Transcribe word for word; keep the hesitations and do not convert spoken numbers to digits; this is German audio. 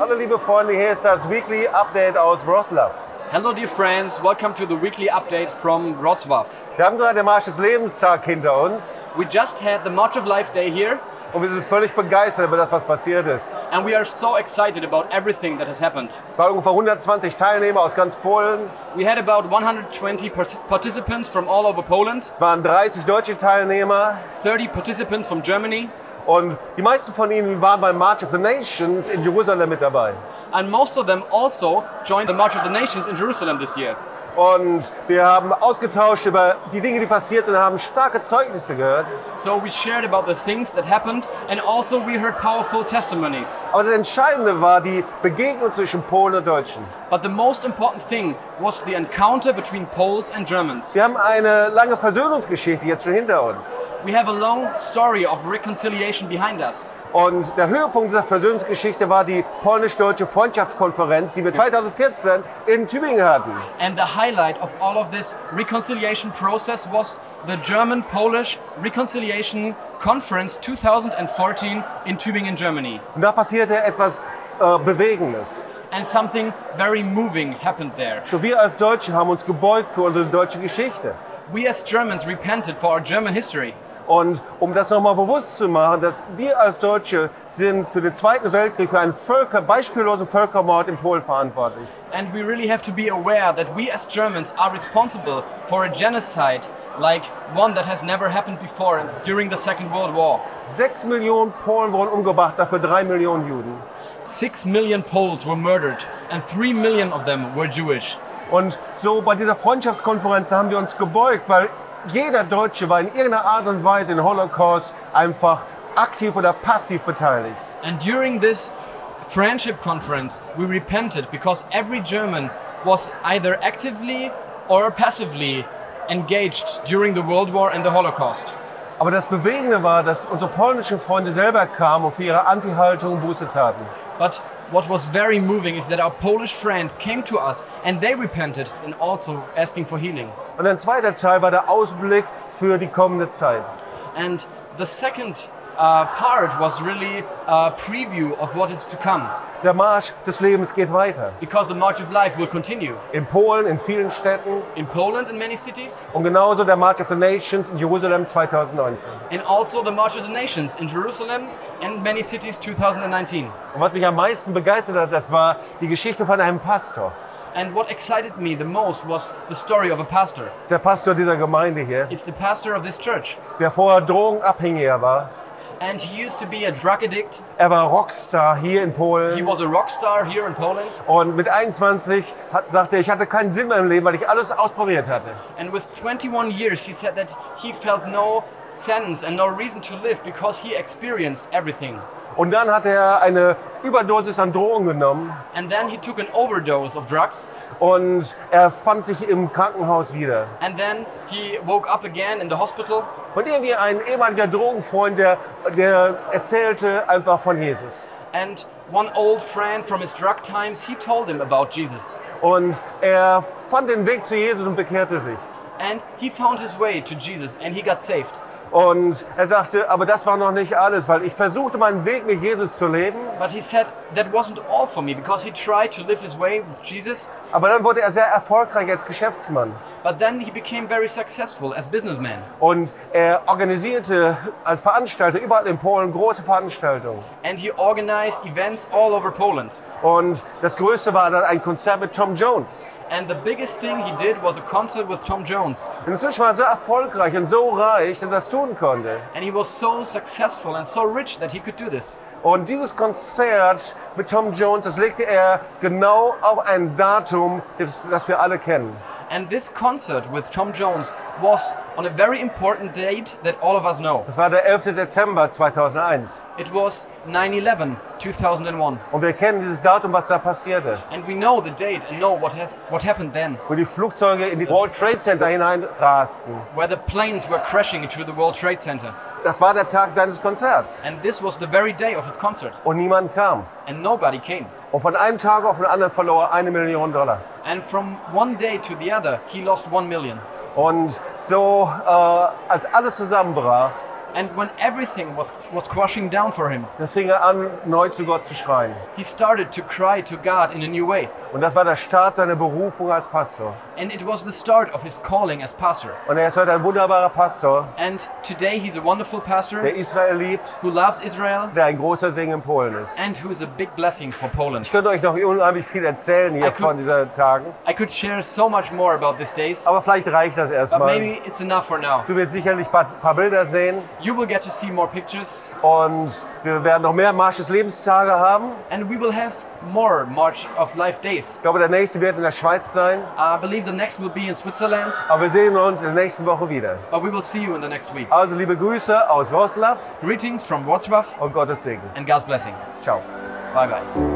Hallo liebe Freunde, hier ist das Weekly Update aus Wrocław. Hello dear friends, welcome to the weekly update from Wrocław. Wir haben gerade den Marsch des Lebenstag hinter uns We just had the March of Life Day here und wir sind völlig begeistert über das, was passiert ist. and we are so excited about everything that has happened. Es waren ungefähr hundertzwanzig Teilnehmer aus ganz Polen, We had about one hundred twenty par- participants from all over Poland, es waren dreißig deutsche Teilnehmer thirty participants from Germany, und die meisten von ihnen waren beim March of the Nations in Jerusalem mit dabei. and most of them also joined the March of the Nations in Jerusalem this year. Und wir haben ausgetauscht über die Dinge, die passiert sind, und haben starke Zeugnisse gehört. So we shared about the things that happened and also we heard powerful testimonies. Aber das Entscheidende war die Begegnung zwischen Polen und Deutschen. But the most important thing was the encounter between Poles and Germans. Wir haben eine lange Versöhnungsgeschichte jetzt schon hinter uns. We have a long story of reconciliation behind us. Und der Höhepunkt dieser Versöhnungsgeschichte war die polnisch-deutsche Freundschaftskonferenz, die wir zweitausendvierzehn in Tübingen hatten. And the highlight of all of this reconciliation process was the German-Polish Reconciliation Conference twenty fourteen in Tübingen, Germany. Und da passierte etwas äh, Bewegendes. And something very moving happened there. So, wir als Deutsche haben uns gebeugt für unsere deutsche Geschichte. We as Germans repented for our German history. Und um das nochmal bewusst zu machen, dass wir als Deutsche sind für den Zweiten Weltkrieg, für einen Völker, beispiellosen Völkermord in Polen verantwortlich. And we really have to be aware that we as Germans are responsible for a genocide like one that has never happened before during the Second World War. Sechs Millionen Polen wurden umgebracht, dafür drei Millionen Juden. Six million Poles were murdered and three million of them were Jewish. Und so bei dieser Freundschaftskonferenz haben wir uns gebeugt, weil jeder Deutsche war in irgendeiner Art und Weise im Holocaust einfach aktiv oder passiv beteiligt. And during this friendship conference, we repented because every German was either actively or passively engaged during the World War and the Holocaust. Aber das Bewegende war, dass unsere polnischen Freunde selber kamen und für ihre Anti-Haltung Buße taten. But what was very moving is that our Polish friend came to us and they repented and also asking for healing. Und ein zweiter Teil war der Ausblick für die kommende Zeit. And the second uh, part was really a preview of what is to come. Der Marsch des Lebens geht weiter. Because the March of Life will continue. In Polen, in vielen Städten. In Poland in many cities. Und genauso der March of the Nations in Jerusalem zweitausendneunzehn. And also the March of the Nations in Jerusalem and many cities twenty nineteen. Und was mich am meisten begeistert hat, das war die Geschichte von einem Pastor. And what excited me the most was the story of a pastor. Das ist der Pastor dieser Gemeinde hier, It's the pastor of this church. der vorher Drogenabhängiger war. And he used to be a drug addict. Er war Rockstar hier in He Polen. was a rock star here in Poland. Und mit einundzwanzig hat, sagte er, ich hatte keinen Sinn mehr im Leben, weil ich alles ausprobiert hatte. And with twenty-one years, he said that he felt no sense and no reason to live because he experienced everything. Und dann hat er eine Überdosis an Drogen genommen And then he took an overdose of drugs. und er fand sich im Krankenhaus wieder. And then he woke up again in the hospital. Und irgendwie ein ehemaliger Drogenfreund, der, der erzählte einfach von Jesus. And one old friend from his drug times, he told him about Jesus. Und er fand den Weg zu Jesus und bekehrte sich. And he found his way to Jesus and he got saved. Und er sagte, aber das war noch nicht alles, weil ich versuchte, meinen Weg mit Jesus zu leben. But he said that wasn't all for me because he tried to live his way with Jesus. Aber dann wurde er sehr erfolgreich als Geschäftsmann. But then he became very successful as businessman. Und er organisierte als Veranstalter überall in Polen große Veranstaltungen. And he organized events all over Poland. Und das Größte war dann ein Konzert mit Tom Jones. And the biggest thing he did was a concert with Tom Jones. Und inzwischen war er so erfolgreich und so reich, dass er es tun konnte. And he was so successful and so rich that he could do this. Und dieses Konzert mit Tom Jones, das legte er genau auf ein Datum, das, das wir alle kennen. And this concert with Tom Jones was on a very important date that all of us know. Das war der elfte September zweitausendeins. It was nine eleven two thousand one. Und wir kennen dieses Datum, was da passierte. And we know the date and know what has what happened then. Wo die Flugzeuge in die World Trade Center hineinrasten. Where the planes were crashing into the World Trade Center. Das war der Tag seines Konzerts. And this was the very day of his concert. Und niemand kam. And nobody came. Und von einem Tag auf den anderen verlor er eine Million Dollar. And from one day to the other, he lost one million. Und so, äh, als alles zusammenbrach, And when everything was, was crushing down for him, da fing er an, neu zu Gott zu schreien. he started to cry to God in a new way. Und das war der Start seiner Berufung als Pastor. And it was the start of his calling as pastor. Und er ist heute ein wunderbarer Pastor, And today he's a wonderful pastor der Israel liebt, who loves Israel der ein großer Segen in Polen ist. and who is a big blessing for Poland. Ich könnte euch noch unheimlich viel erzählen hier I could- von diesen Tagen, I could share so much more about these days, aber vielleicht reicht das but erstmal. maybe it's enough for now. Du wirst sicherlich ein paar, paar Bilder sehen You will get to see more pictures, und wir werden noch mehr Marsch des Lebenstage haben. and we will have more March of Life days. Ich glaube, der nächste wird in der Schweiz sein, I believe the next will be in Switzerland, aber wir sehen uns in der nächsten Woche wieder. but we will see you in the next weeks. Also liebe Grüße aus Wroclaw Greetings from Wrocław und Gottes Segen. and God's blessing. Ciao. Bye bye.